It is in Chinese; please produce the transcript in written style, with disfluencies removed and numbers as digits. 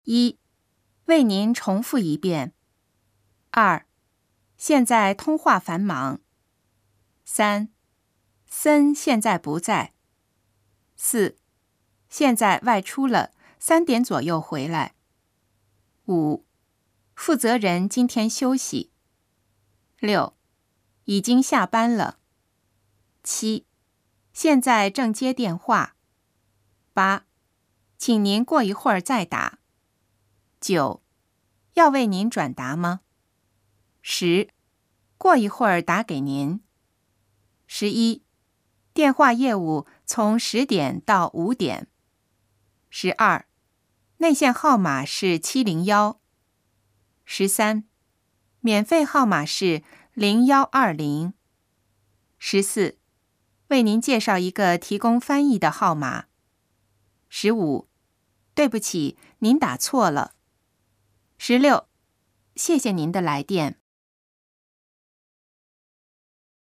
1. 为您重复一遍。2. 现在通话繁忙。3. 森现在不在。4. 现在外出了，3点左右回来。5. 负责人今天休息。6. 已经下班了。7. 现在正接电话。8. 请您过一会儿再打。9. 要为您转达吗？10. 过一会儿打给您。11. 电话业务从10点到5点。12. 内线号码是701。13. 免费号码是0120。14. 为您介绍一个提供翻译的号码。15. 对不起，您打错了。16. 谢谢您的来电。